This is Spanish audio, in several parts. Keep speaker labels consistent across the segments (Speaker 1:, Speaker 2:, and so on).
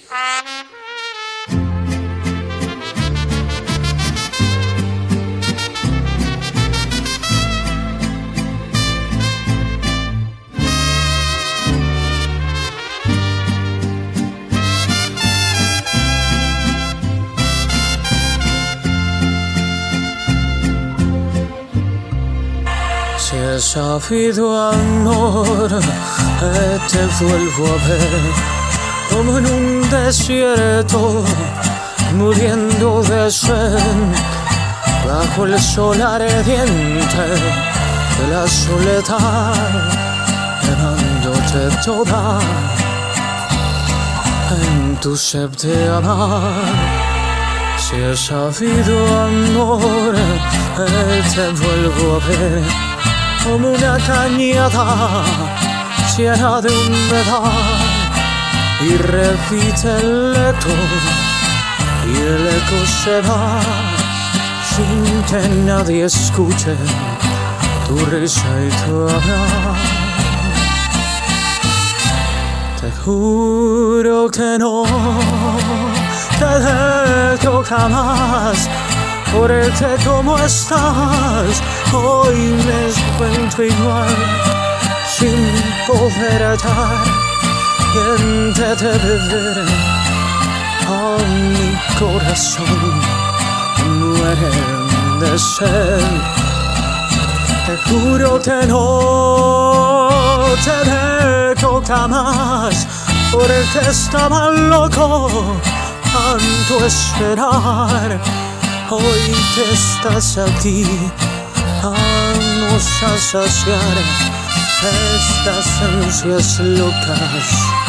Speaker 1: Si he sabido amor, te vuelvo a ver como en un desierto, muriendo de sed, bajo el sol ardiente de la soledad, llevándote toda en tu sed de amar. Si he sabido amor, te vuelvo a ver como una cañada llena de humedad, y repite el eco, y el eco se va sin que nadie escuche tu risa y tu hablar. Te juro que no te dejo jamás, porque como estás hoy me encuentro igual, sin poder hallar quien te debe ver. A mi corazón muere de sed. Te juro que no te dejo jamás, porque estaba loco tanto esperar. Hoy que estás aquí, vamos a saciar estas ansias locas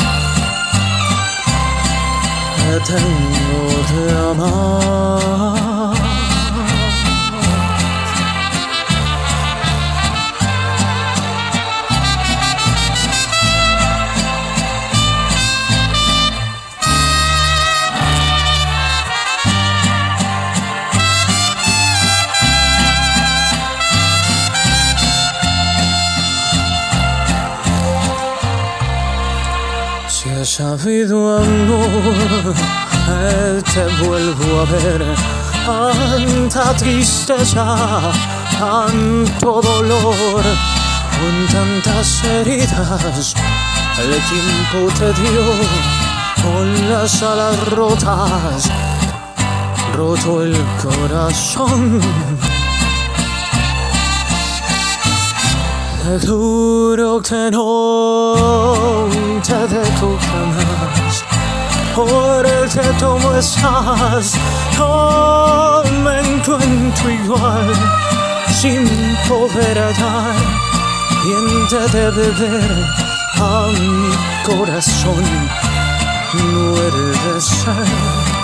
Speaker 1: que tengo de amar. Si he sabido amor, te vuelvo a ver. Tanta tristeza, tanto dolor, con tantas heridas el tiempo te dio, con las alas rotas, roto el corazón. Te juro que no te dejo jamás, porque como estás no me encuentro igual, sin poder hallar quien te debe ver. A mi corazón muere de sed.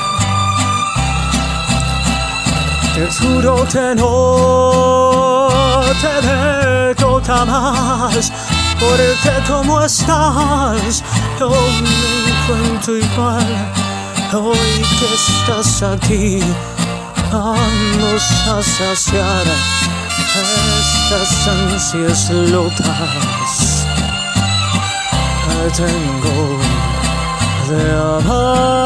Speaker 1: Te juro que no te dejo jamás, porque como estás yo me encuentro igual. Hoy que estás aquí, vamos a saciar estas ansias locas que tengo de amar.